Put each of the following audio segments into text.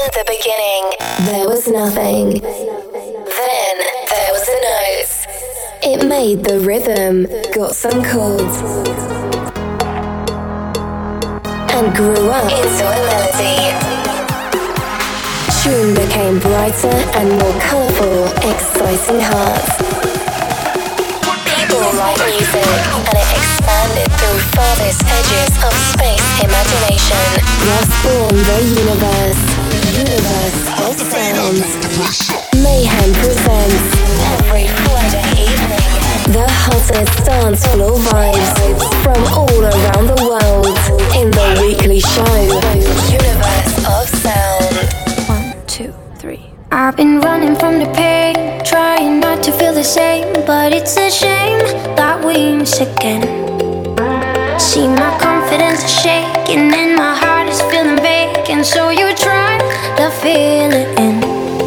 the beginning, there was nothing. Then there was a note. It made the rhythm, got some chords, and grew up into a melody. Tune became brighter and more colourful, exciting hearts. People like music, and it expanded through farthest edges of space imagination. Thus born the universe of sounds. Mayhem presents every Friday evening the hottest dance floor vibes from all around the world in the weekly show Universe of Sound. 1, 2, 3. I've been running from the pain, trying not to feel the same, but it's a shame that we miss again. See, my confidence is shaking and my heart is feeling vacant, so you try to fill it in.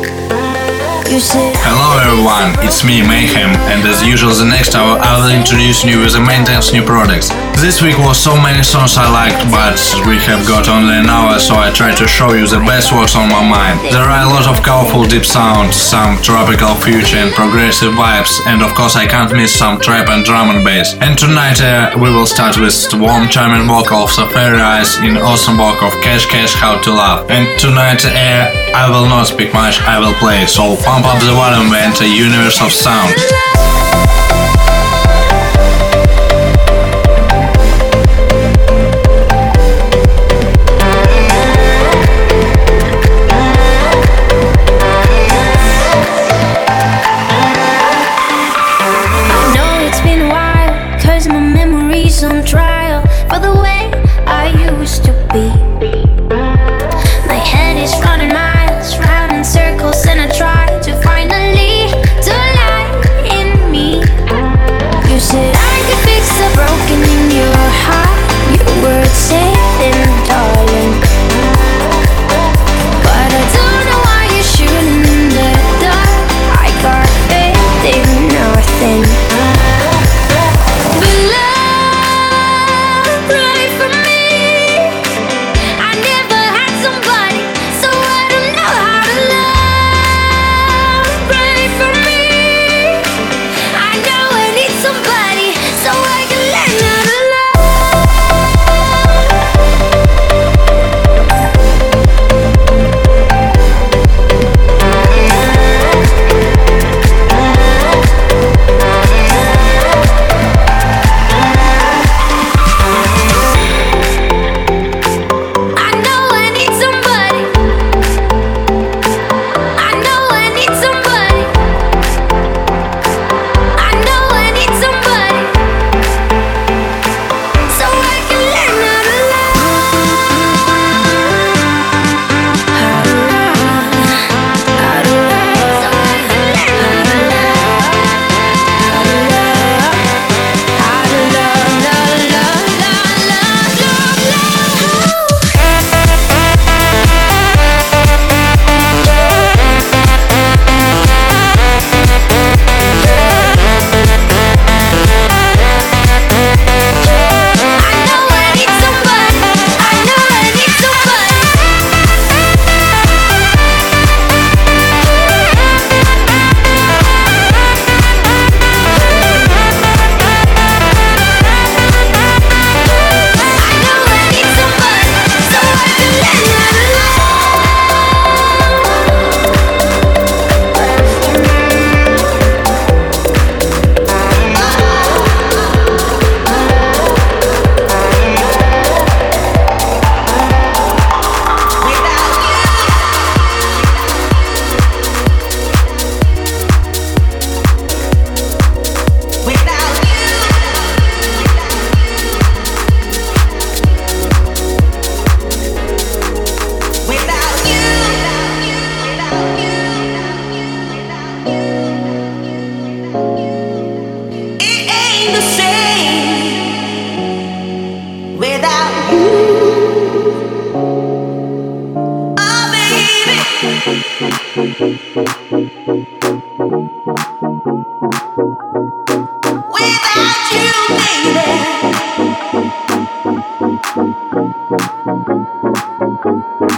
Hello everyone, it's me, Mayhem, and as usual the next hour I will introduce you with the maintenance new products. This week was so many songs I liked, but we have got only an hour, so I try to show you the best works on my mind. There are a lot of colorful deep sounds, some tropical future and progressive vibes, and of course I can't miss some trap and drum and bass. And tonight we will start with the warm charming vocal of Safari Eyes in awesome work of Cash Cash How to Love. And tonight I will not speak much, I will play, so pump up the volume and enter Universe of Sound. I know it's been a while, 'cause my memory's on trial for the way I used to be. My head is running miles, round in circles, and I try to finally to lie in me. You said I could fix the broken in your heart. Your words saying, darling, but I don't know why you're shooting in the dark. I got faith in nothing. But love, pray for me. I never had somebody, so I don't know how to love. Pray for me. I know I need somebody, so I can learn how to love. I know I need somebody. I know I need somebody. I know I need somebody, so I can learn how to love. How to love, how to love, so I can learn how to love. How to love, how to love, love, love, love, love, I know I need somebody. I know I need somebody. I know I need somebody, so I can learn how to It ain't the same without you. Oh, baby. Without you, baby.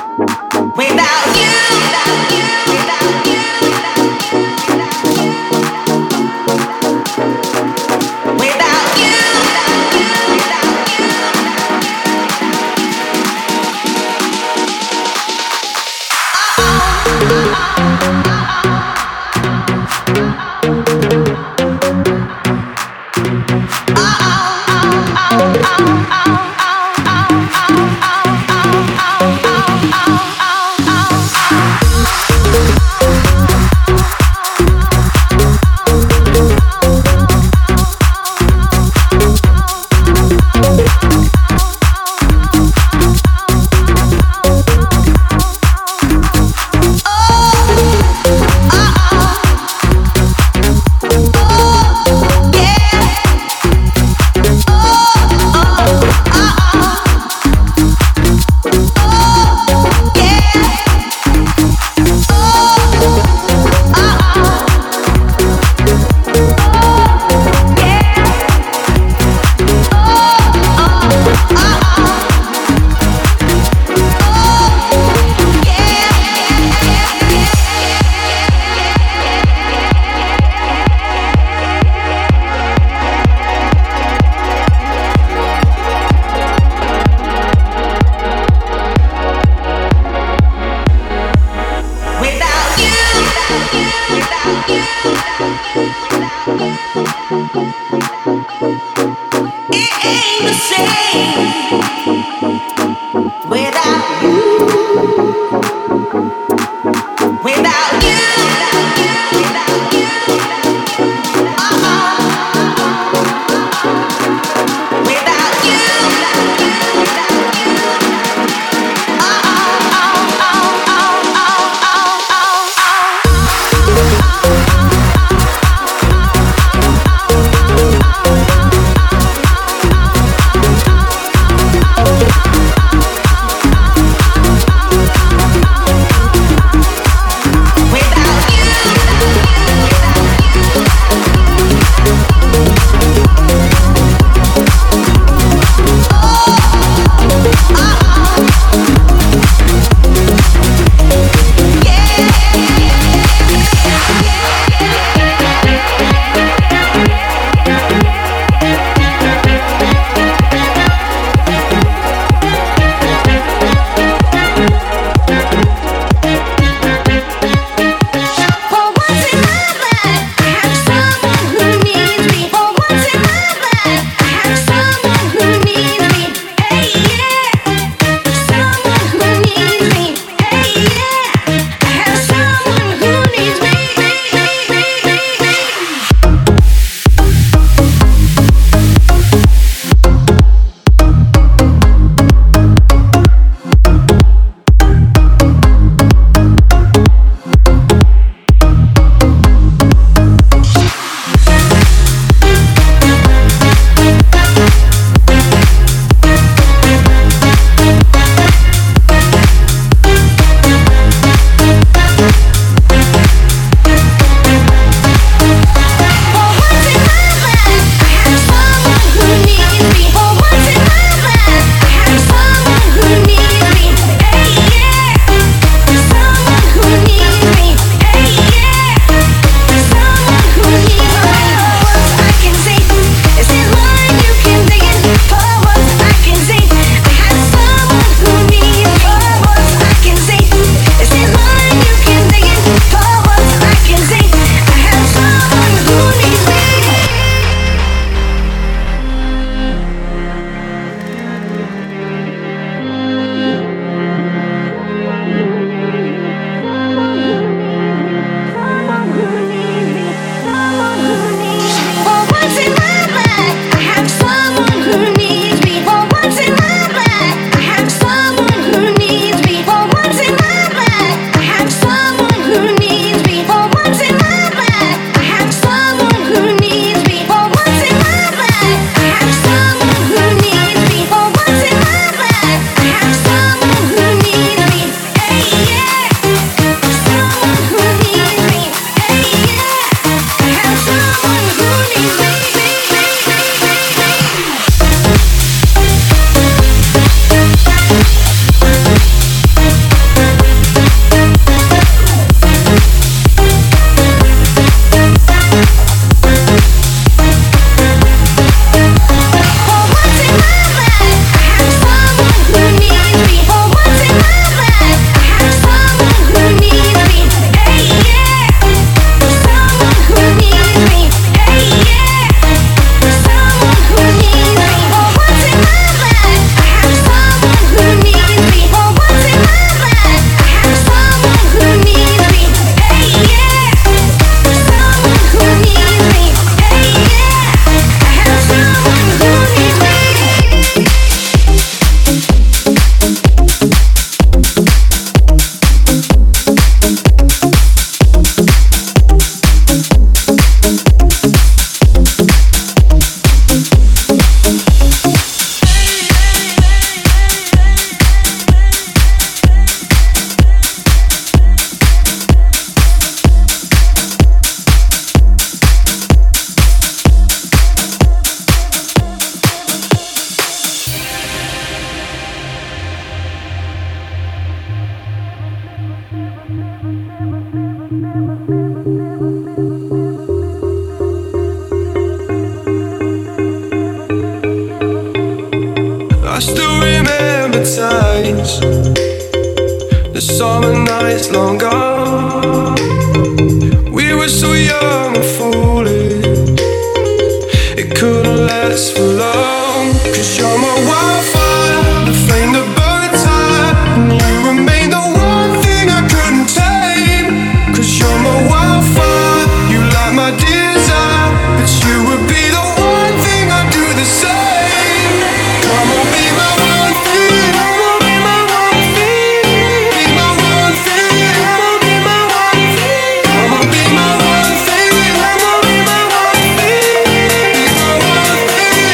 still remember times, the summer nights long gone. We were so young and foolish, it couldn't last for long. 'Cause you're my wildfire, the flame that burns high, and you remain the one thing I couldn't tame. 'Cause you're my wildfire, you light my desire, but you would be the one thing I do the same. Come on, be my one thing. Come on, be my one thing. Be my one thing. Come on, be my one thing. Come on, be my one thing. Come on, be my one thing. Be my one thing.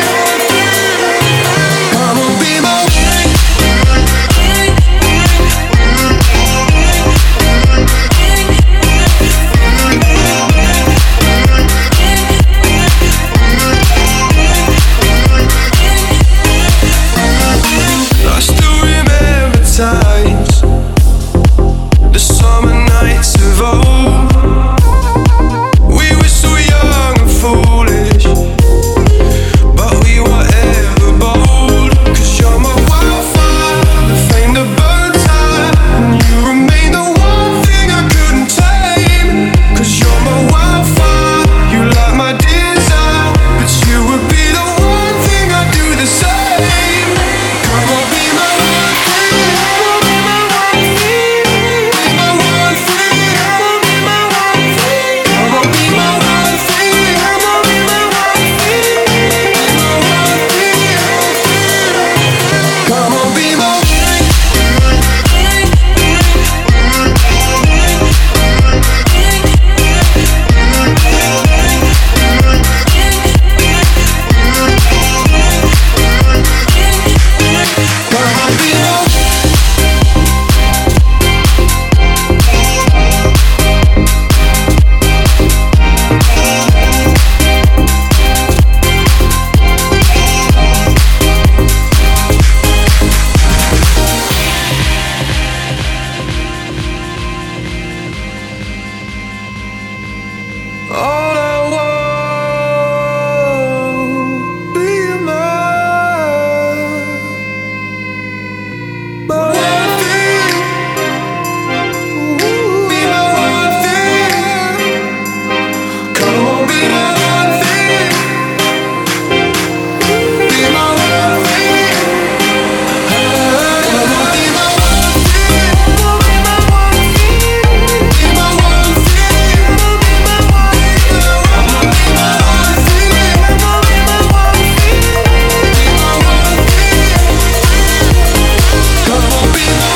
Come on, be my one thing. I still remember times, the summer nights of old. We were so young and foolish, but we were ever bold. 'Cause you're my wildfire, the flame that burns high, and you remain the one thing I couldn't tame. 'Cause you're my wildfire, you light my desire, but you would be the one thing I do the same. Come on, be my one thing. Come on, be my one thing. Be my one thing. Come on, be my one thing. Come on, be my one thing. Come on, be my one thing. Be my one thing. Come on, be my all I want. Be my one thing. Be my one thing. Come on, be my one thing. Be my one thing. Come on, be my one thing. Come on, be my one thing. Be my one thing. Come on, be my one thing. Come on, be my one thing. Come on, be my one thing. Be my one thing. Come on, be my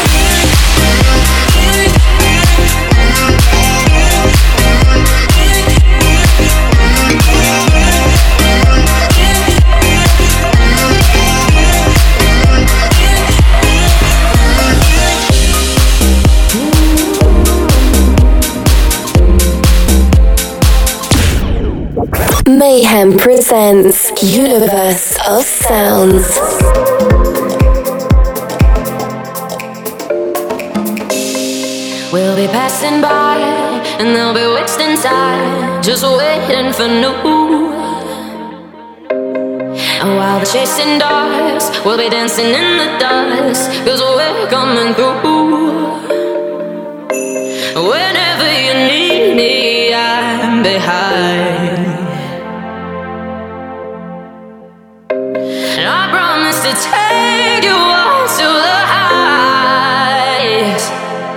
Mayhem presents Universe of Sounds. We'll be passing by and they'll be wasting time, just waiting for new. And while they're chasing dogs, we'll be dancing in the dust, 'cause we're coming through. Whenever you need me, I'm behind. And I promise to take you all to the heights.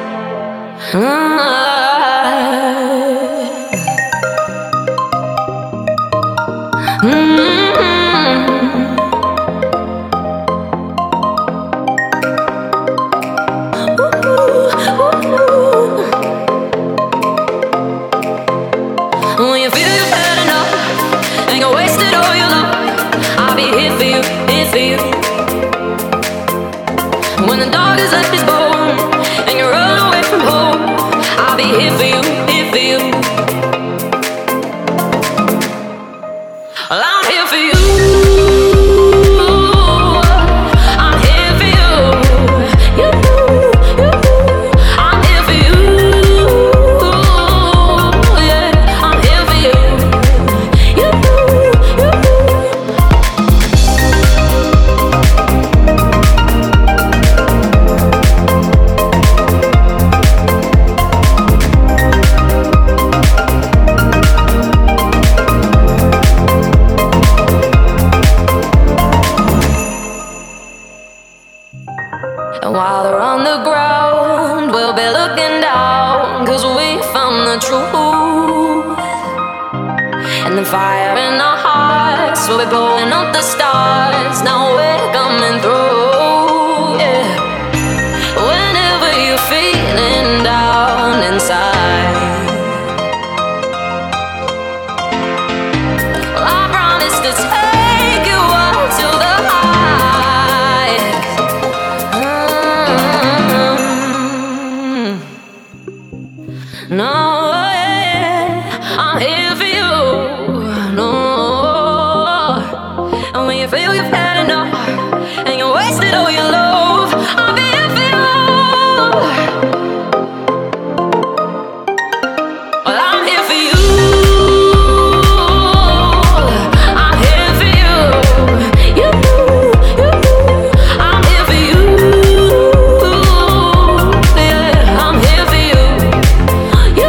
When you feel you've had enough and you wasted all your love, I'll be here for you, here for you. When the dog has left his bone and you run away from home, truth. And the fire in our hearts, we're blowing up the stars. Now we're coming through, yeah. Whenever you're feeling down inside, well, I promise to take you up to the heights. No, yeah, I'm here for you. No, and when you feel you've had enough and you wasted all your love, I'll be here for you. Well, I'm here for you. I'm here for you. You, I'm here for you. Yeah, I'm here for you. You.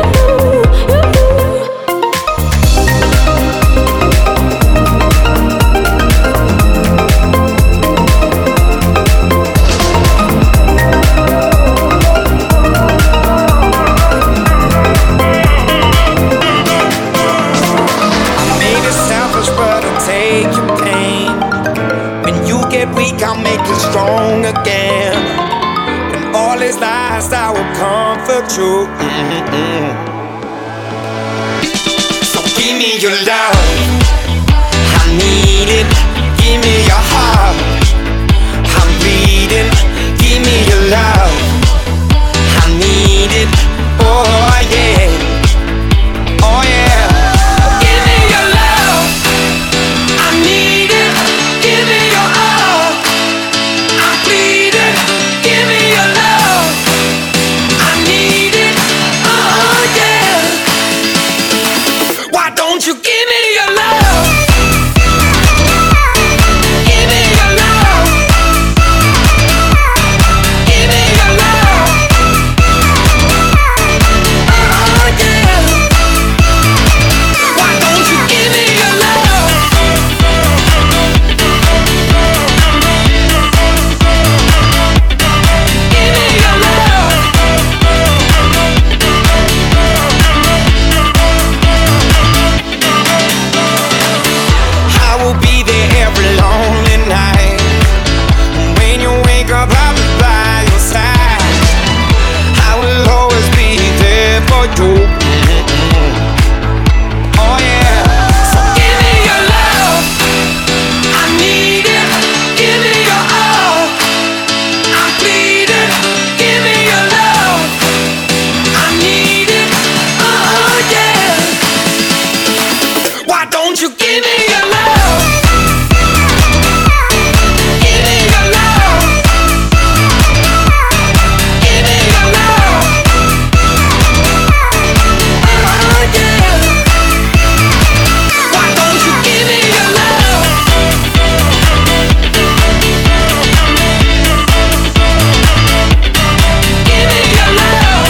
I'll make you strong again. When all is lost, I will comfort you. So give me your love, I need it. Give me your heart, I'm bleeding. Give me your love, I need it. Oh yeah, oh yeah. Give me your love, I need it. Give me your all, I'm bleeding. Give me your love, I need it. Oh yeah. Why don't you give me your love? Give me your love. Give me your love. Oh yeah. Why don't you give me your love? Give me your love. I will be there every lonely night. When you wake up, I'll be by your side. I will always be there for you. Oh yeah. So give me your love, I need it. Give me your all, I'm bleeding. Give me your love, I need it. Oh yeah. Why don't you give me your love? Give me your love. Give me your love. Oh yeah. Why don't you give me your love? Give me your love.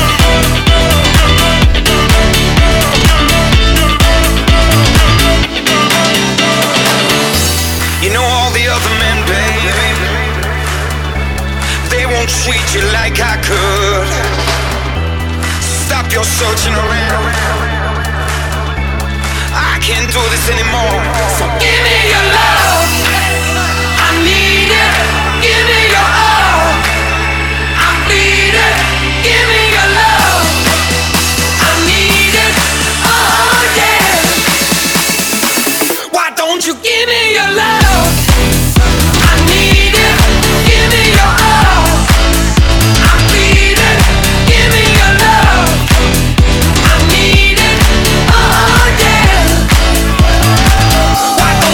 You know all the other men, baby, they won't treat you like I could. Stop your searching around, I can't do this anymore. So give me your love, I need it. Give me your all, I'm bleeding. Give me your love, I need it. Oh yeah. Why don't you give me your love? I need it. Give me your all, I'm bleeding. Give me your love, I need it. Oh yeah. Why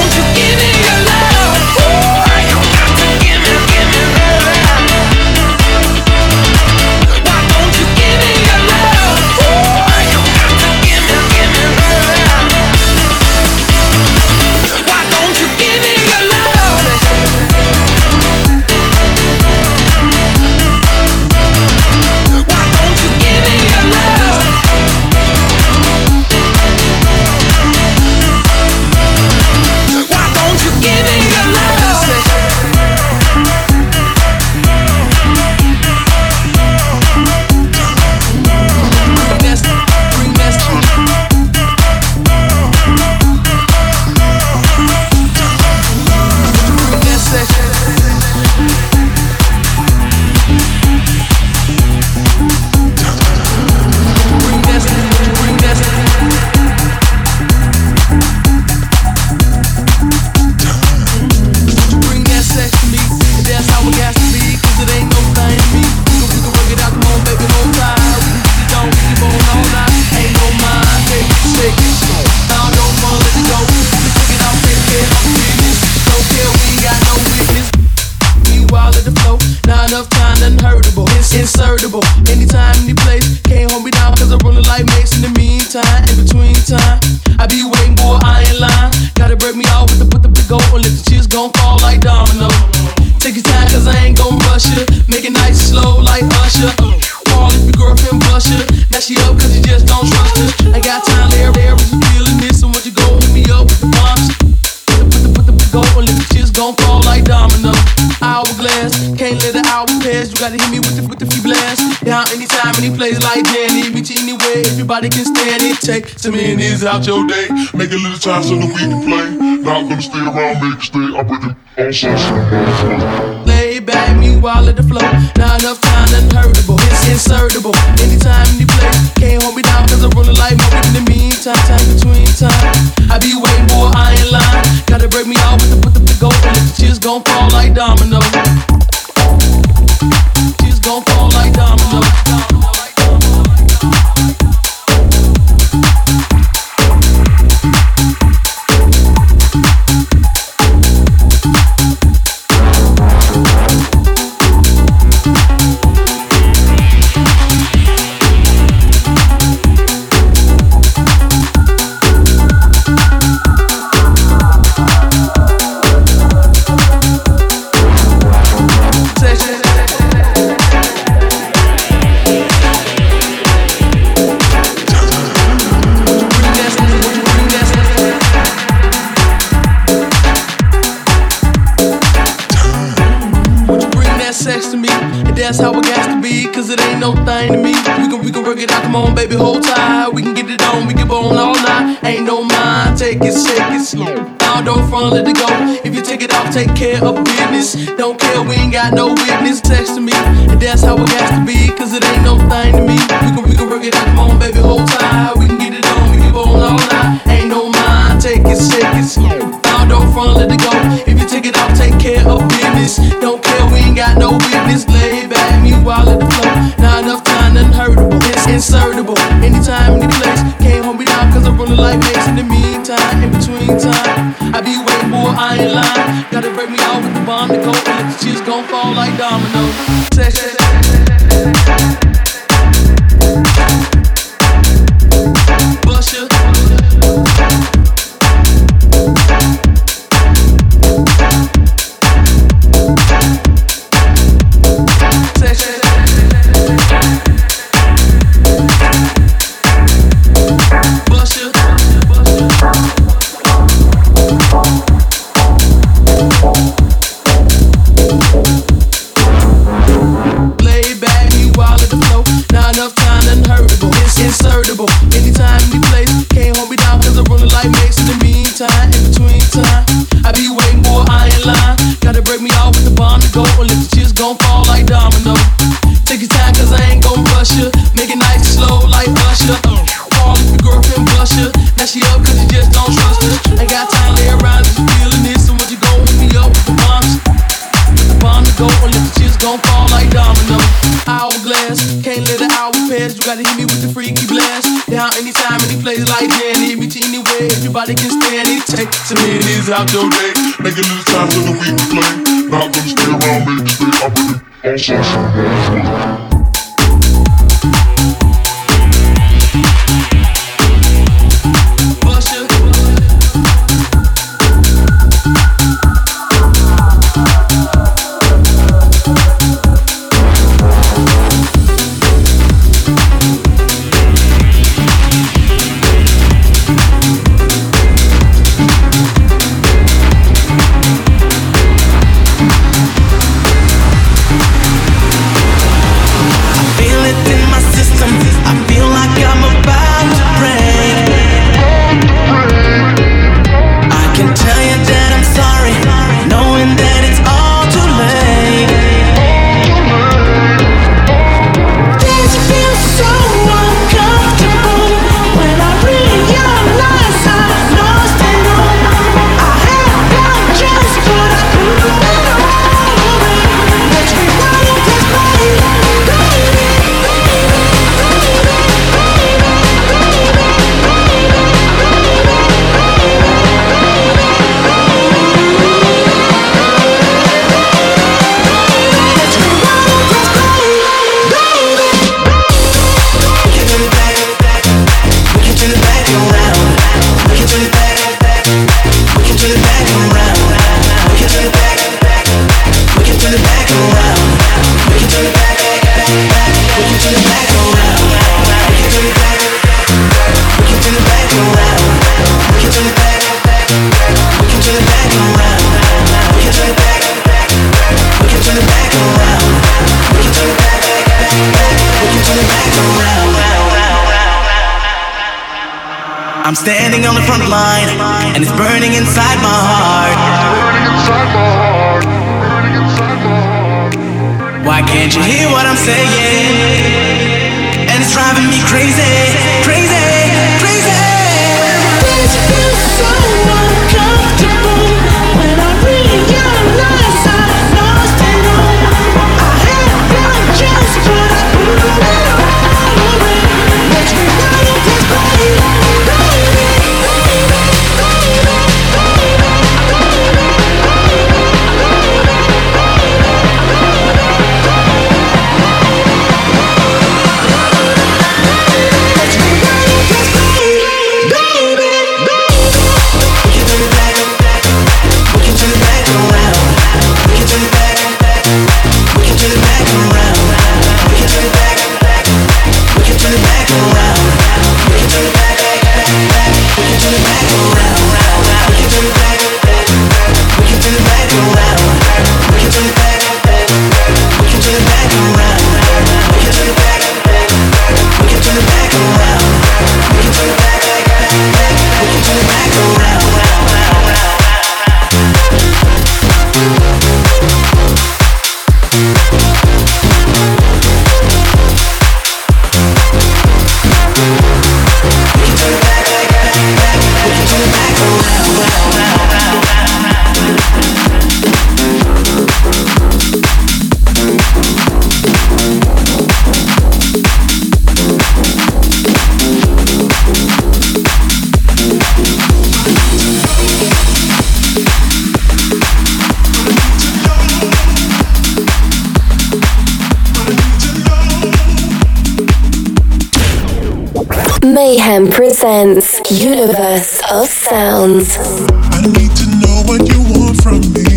anytime, any place. Can't hold me down cause I'm rolling like Mace. In the meantime, in between time, I be waiting, boy, I ain't lying. Gotta break me off with the big goal and let the chips gon' fall like domino. Take your time cause I ain't gon' rush you. Make it nice and slow like Usher. Call if your girlfriend bust you. Now she up cause you just don't trust her. I got time there, but you feeling this. And once you go hit me up with the bombs, put the big goal and let the chips gon' fall like domino. Hourglass, can't let the hour pass. You gotta hit me with the few blasts. Down anytime, any place like Danny. Reach anywhere, everybody can stand it. Take some minutes out your day. Make a little time so that we can play. Not gonna stay around, make it stay. I break it all sorts. Lay back, meanwhile let the flow. Not enough time, unhurtable. It's insertable. Anytime, any place. Can't hold me down cause I'm rolling like Moby. In the meantime, time between time, I be waiting, boy, I ain't lying. Gotta break me off with the big goal and let the chips gon' fall like domino. Chips gon' fall like domino. That's how it got to be, cause it ain't no thing to me. We can work it out, come on baby, hold tight. We can get it on, we can bone all night. Ain't no mind, take it slow. Now don't front, let it go. If you take it off, take care of business. Don't care, we ain't got no witness. Text to me, and that's how it got to be, cause it ain't no thing to me. We can work it out, come on baby, hold tight. We can get it on, we can bone all night. Ain't no mind, take it slow. Now don't front, let it go. If you take it off, take care of business. Don't care, we ain't got no witness. Lay back, meanwhile let the flow. Not enough time, unhurtable. It's insertable. Anytime, any place. Can't hold me down cause I'm rolling like Mace. In the meantime, in between time, I be waiting, boy, I ain't lying. Gotta break me off with the bomb to go and let the chips gon' fall like dominoes. Bust ya. Anytime, any place, can't hold me down cause I'm rolling like Mace. In the meantime, in between time, I be waiting, boy, I ain't lying. Gotta break me off with the bomb to go and let the chips gon' fall like domino. Take your time cause I ain't gon' rush you. Make it nice and slow like Usher. Call if your girlfriend bust you. Now she up cause you just don't trust her. Ain't got time to lay around if you feeling this. So what you gon' hit me up with the bombs? With the bomb to go and let the chips gon' fall like domino. Hourglass, can't let the hour pass. You gotta hit me with the freaky blast. Down anytime, any place like Danny. Meet you anywhere, everybody can stand it. Take some minutes out your day. Make a little time so that we can play. Not gonna stay around, make it stay. I break it all sorts. I'm standing on the front line, and it's burning inside my heart. Why can't you hear what I'm saying? And it's driving me crazy, crazy, crazy. This feels so uncomfortable when I realize I lost it all. I had one chance, but I blew it all away. Makes me wanna desperate. Mayhem presents Universe of Sounds. I need to know what you want from me,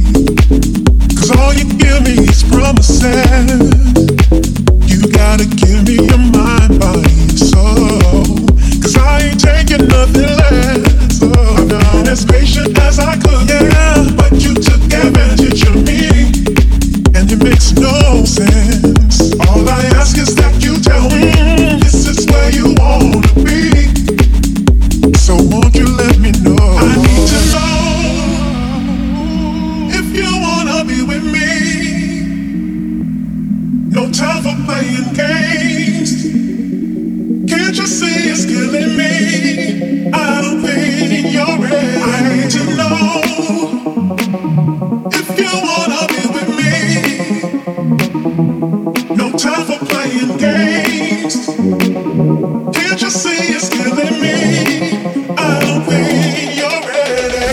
'cause all you give me is promises. You gotta give me your mind, body, soul, 'cause I ain't taking nothing less. Oh, no. As patient as I could, yeah, but you took advantage of me, and it makes no sense. All I ask is that you tell me this is where you wanna be. So won't you let me know? I need to know if you wanna be with me. No time for playing games. Can't you see it's killing me? I don't think you're ready. I need to know if you wanna be with me. No time for playing games. Can't you see it's killing me? I don't think you're ready.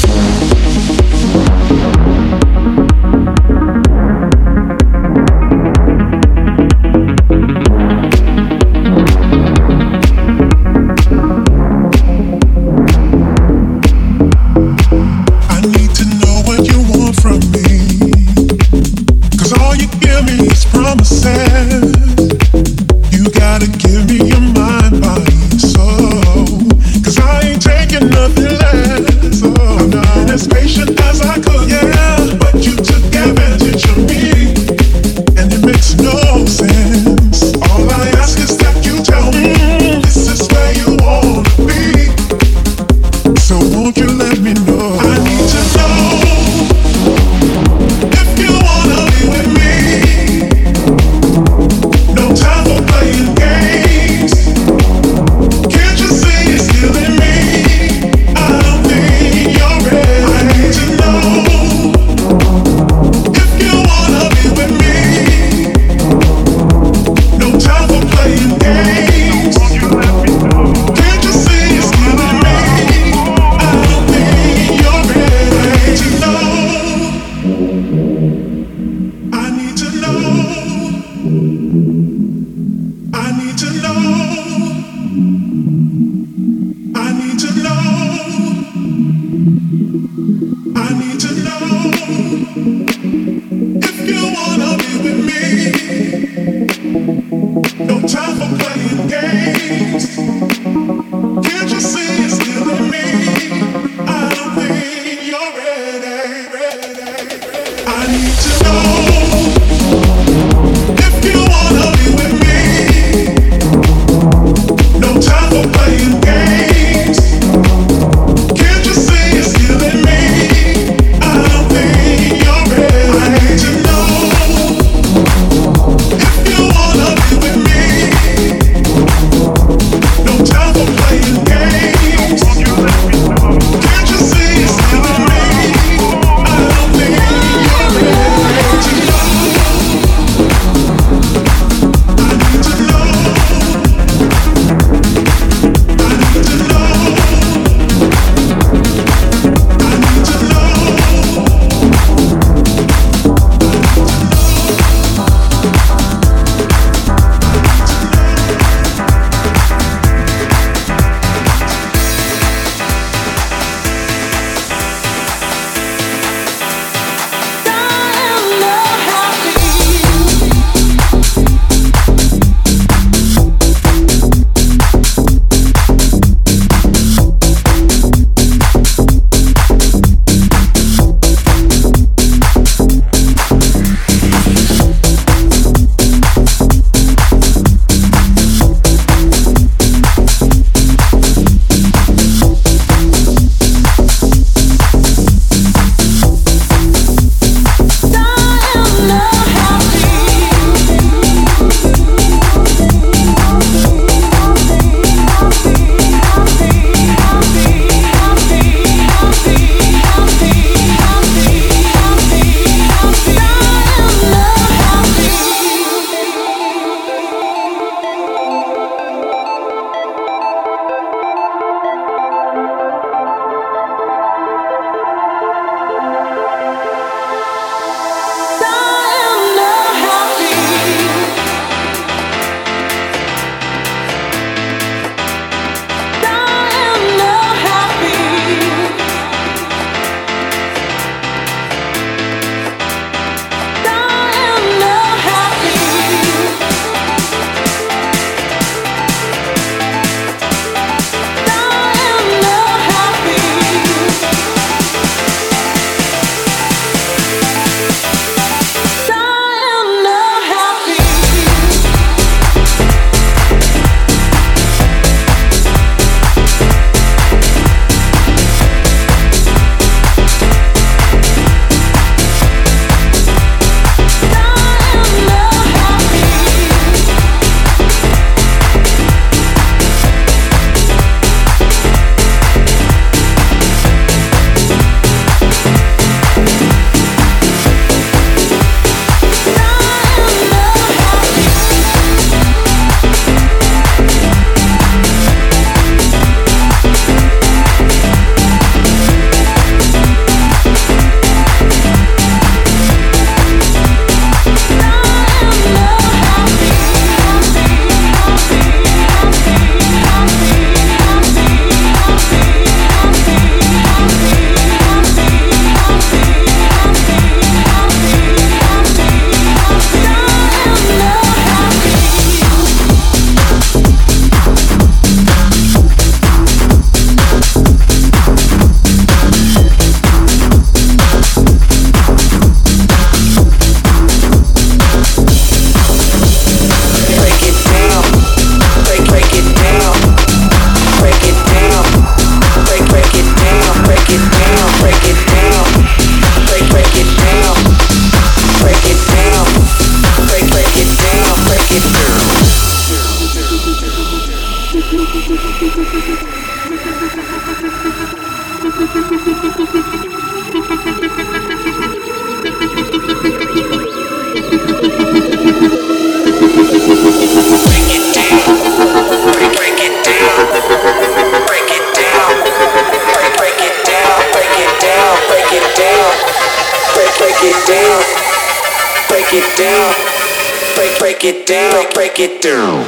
I need to know what you want from me, 'cause all you give me is promises. You gotta give me your mind, body, soul, 'cause I ain't taking nothing less. Oh, no. As patient as I could, yeah, but you took advantage of me, and it makes no sense. All I ask is that you tell me this is where you wanna be. So won't you let me know? I need to know if you wanna be with me. No time for playing games. Can't you see it's killing me? I don't think you're ready. I need to know if you wanna be with me. No time for playing games. Can't you see it's killing me? I don't think you're ready. I need to know. I need to know. I need to know. I need to know. I need to know if you wanna be with me. No time for playing Break it down.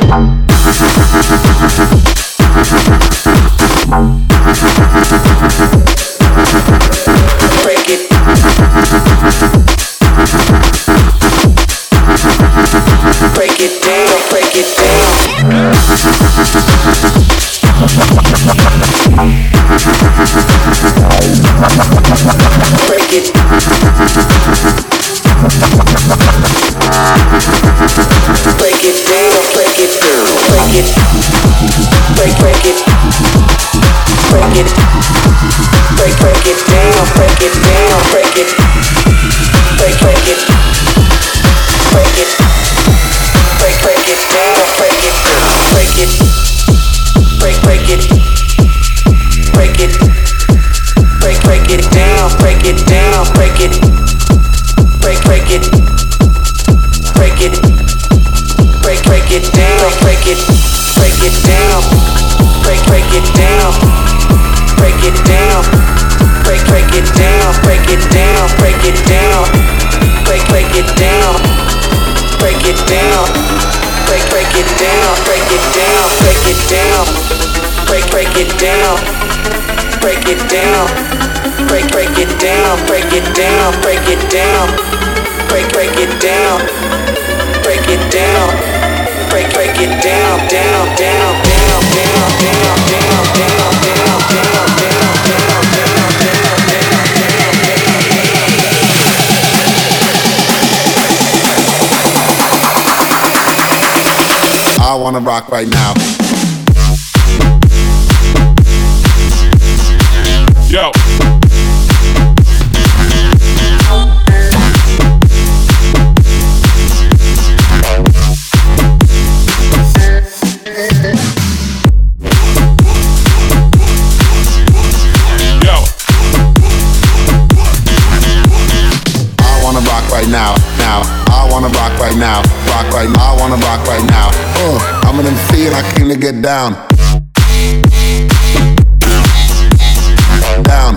Break it. Break it down. Break it down. Break it. Break it down, break it down, break it, break it, break it, break it down, break it down, break it, break it, break it, break it down, break it down, break it, break it, break it, break it down, break it down, break it, break it, break it. Break it down, break it down, break it down, break it down, break it down, break it down, break it down, break it down, break it down, break it down, break it down, break it down, break it down, break it down, break it down, break it down, break it down, break it down, break it down. Break it down, down, down, down, down, down, down, down, down, down, I wanna rock right now. Yo. Now, I wanna rock right now, rock right now, I wanna rock right now. I'm an MC and I came to get down. Down.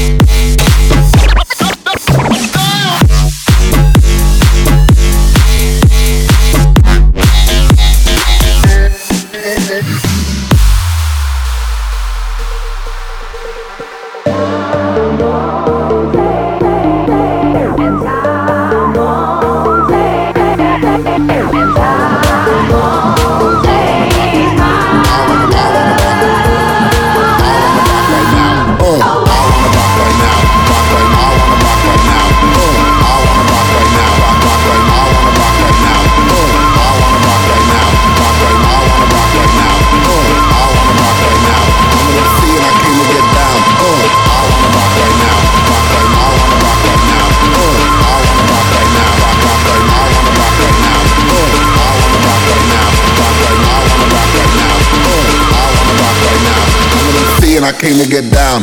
I came to get down.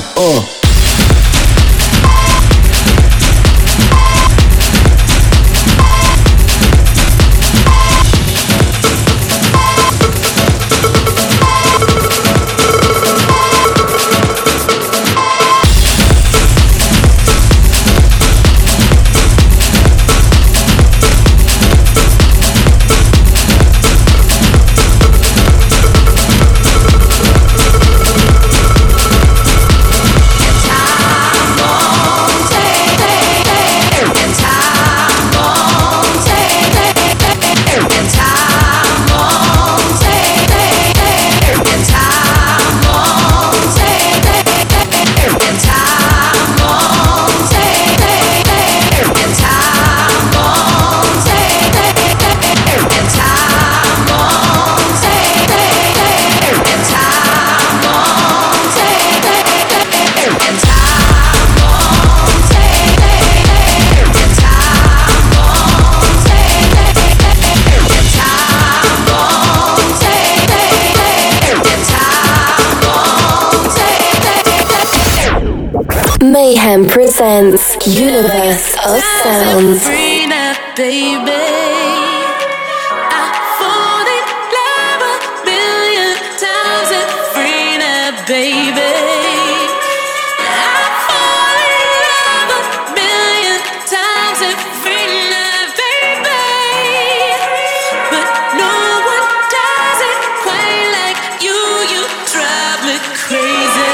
Mayhem presents Universe of Sounds. Free now, baby. I fall in love a million times and free now, baby. I fall in love a million times and free now, baby. But no one does it quite like you. You drive me crazy.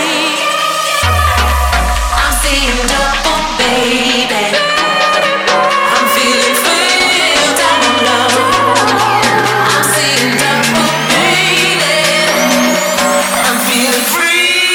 I'm seeing double, baby. I'm feeling free down low. I'm seeing double, baby. I'm feeling free.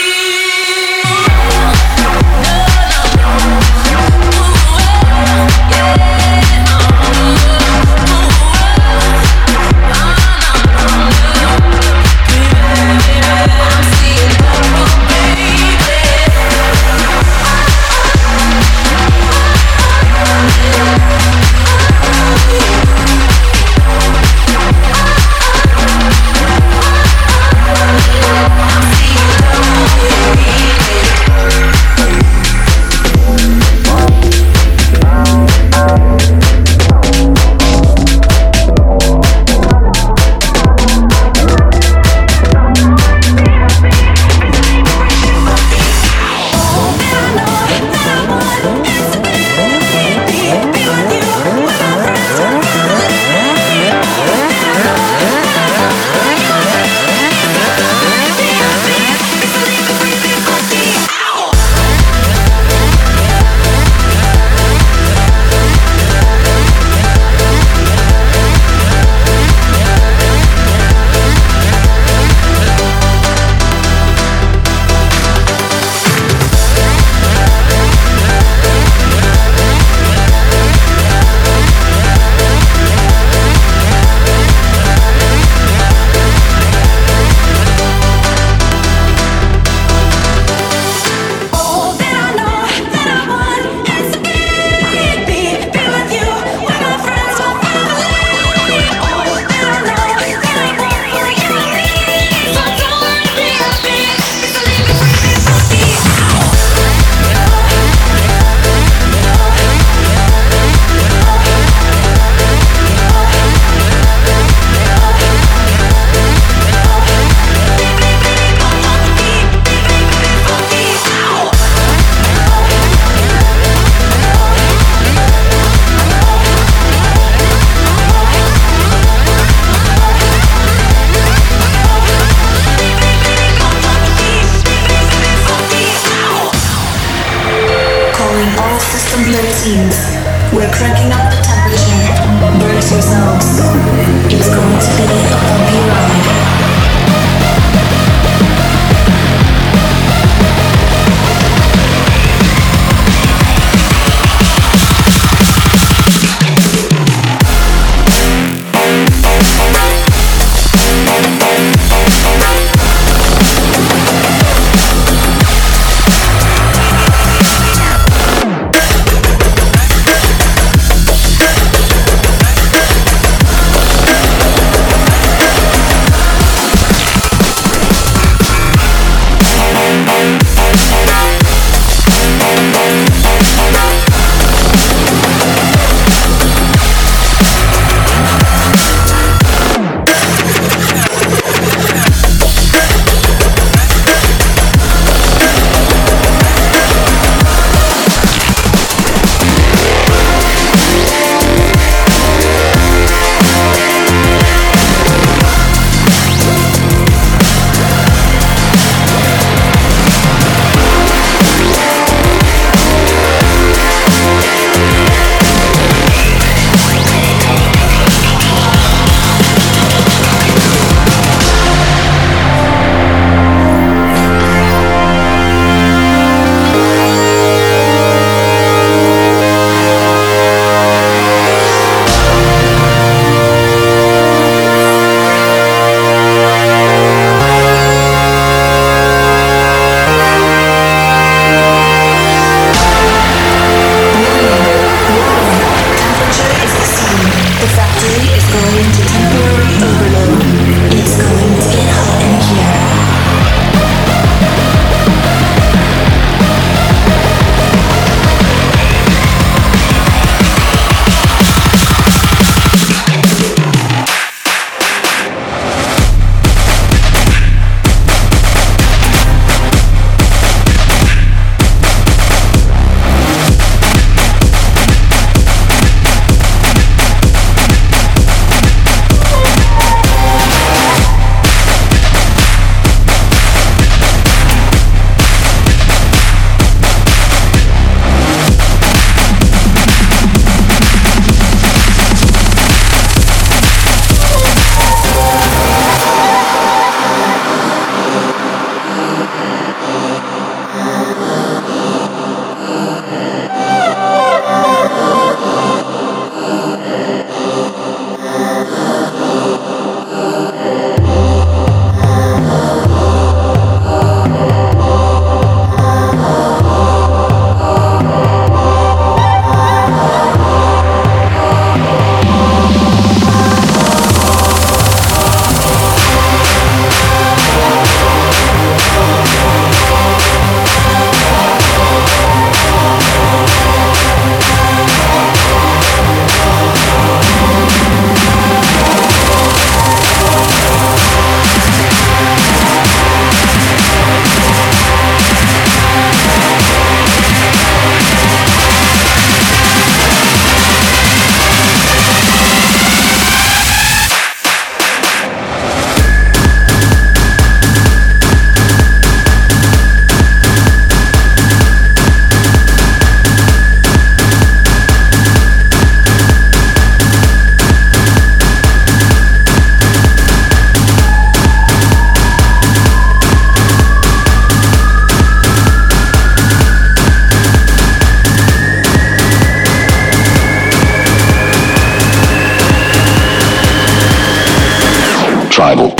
tribal.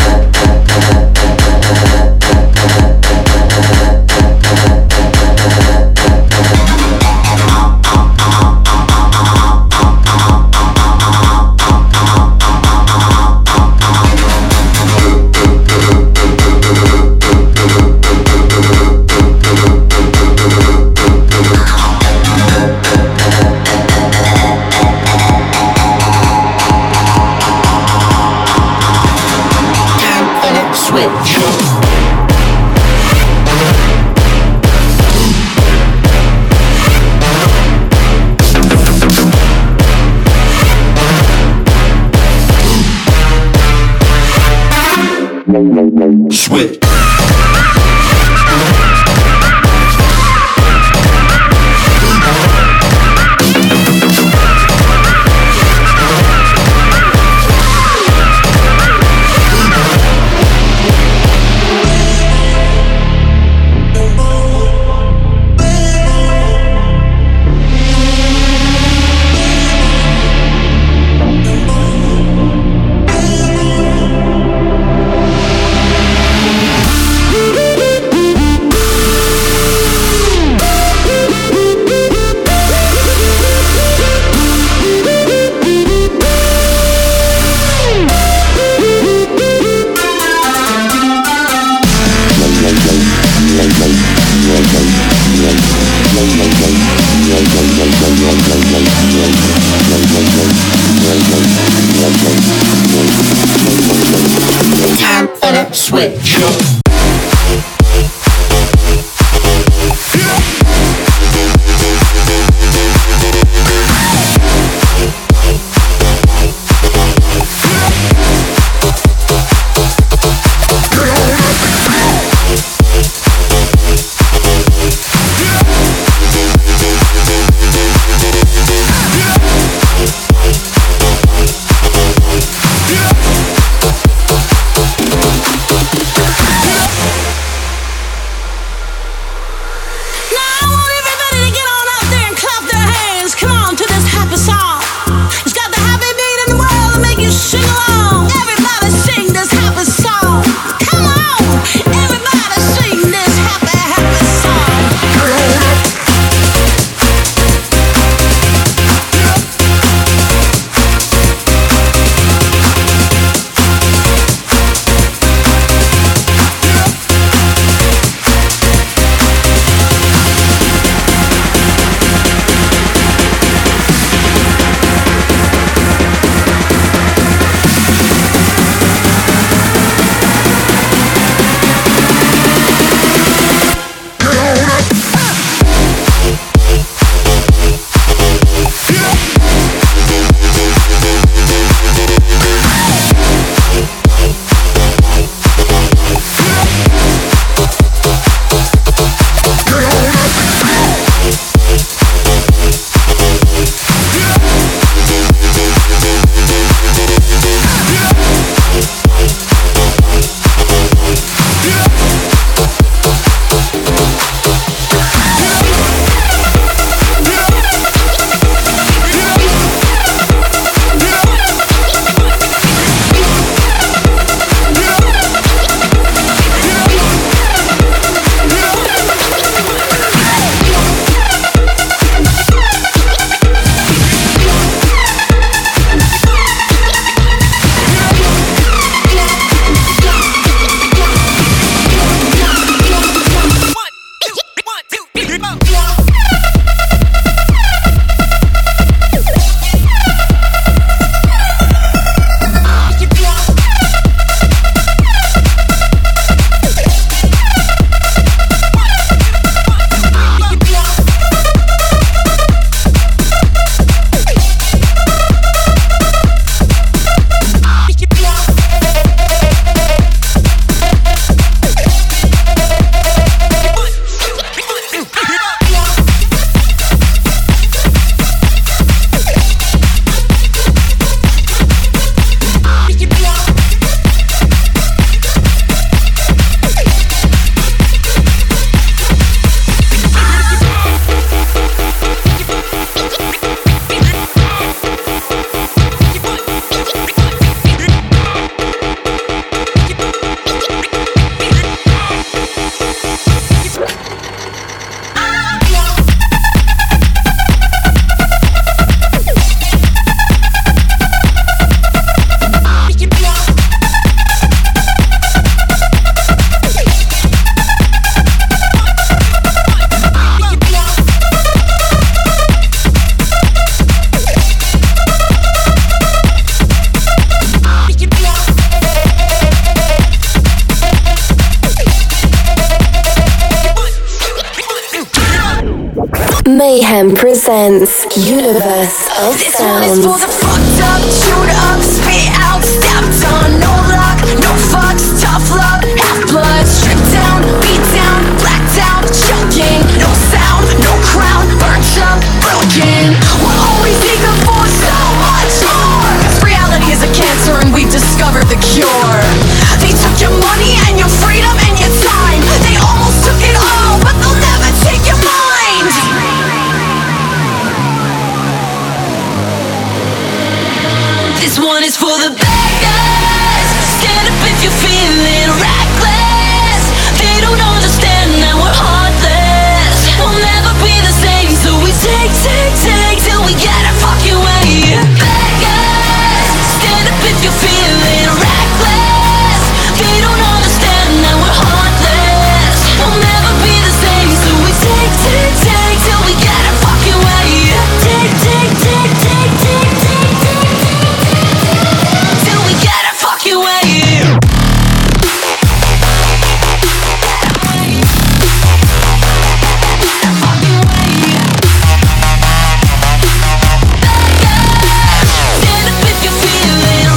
Switch. Time for the switch. Mayhem presents Universe of This Sounds. one is for the fucked up, chewed up, spit out, stepped on. No luck, no fucks, tough love, half blood, stripped down, beat down, blacked out, choking. No sound, no crown, burnt up, broken. We're always eager for so much more. 'Cause reality is a cancer and we've discovered the cure. They took your money and your freedom and your time. They almost took it all, but they'll never take your mind. This one is for the bad guys. Stand up if you're feeling reckless. They don't understand that we're heartless. We'll never be the same, so we take till we get our fucking way. Bad guys, stand up if you're feeling reckless. They don't understand that we're heartless. We'll never be the same, so we take till we get our fucking way. Take till we get our fucking way. Stand up if you're feeling.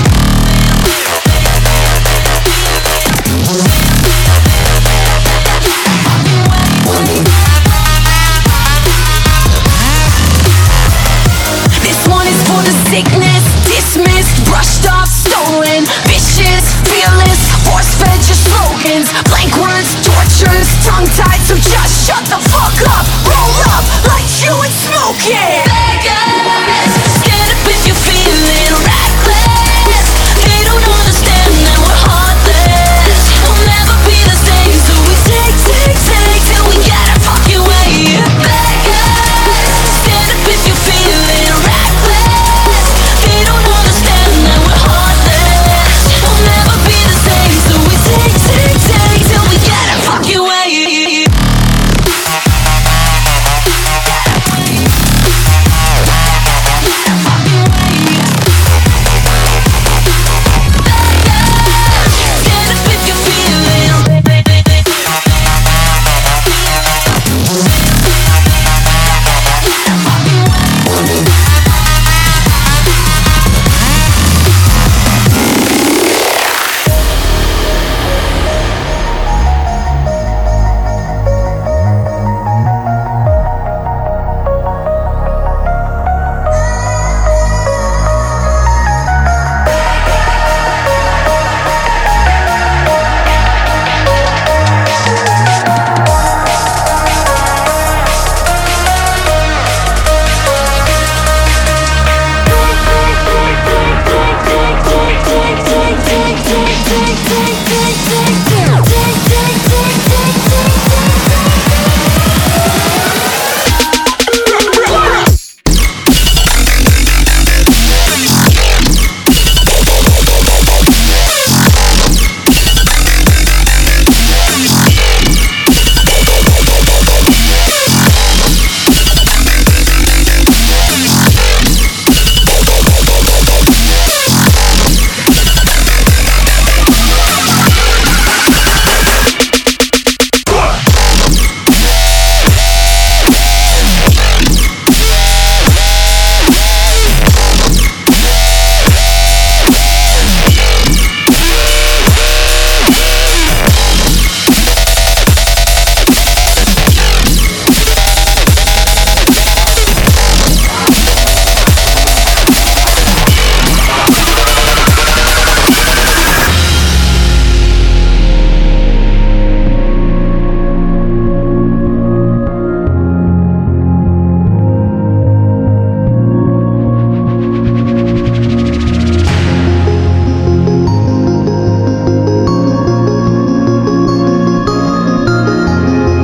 This one is for the sickness, dismissed, brushed off, stolen, vicious, fearless, force-fed your slogans, blank words, tortures, tongue-tied, so just shut the fuck up, roll up, light you and smoke it. Bad guys, stand up if you're feeling reckless. They don't understand that we're heartless. We'll never be the same, so we take till we get our fucking way. Bad guys, stand up if you're feeling reckless. They don't understand that we're heartless. We'll never be the same, so we take till we get our fucking way. Stand up if you're feeling.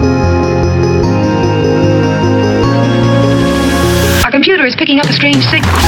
Picking up a strange signal.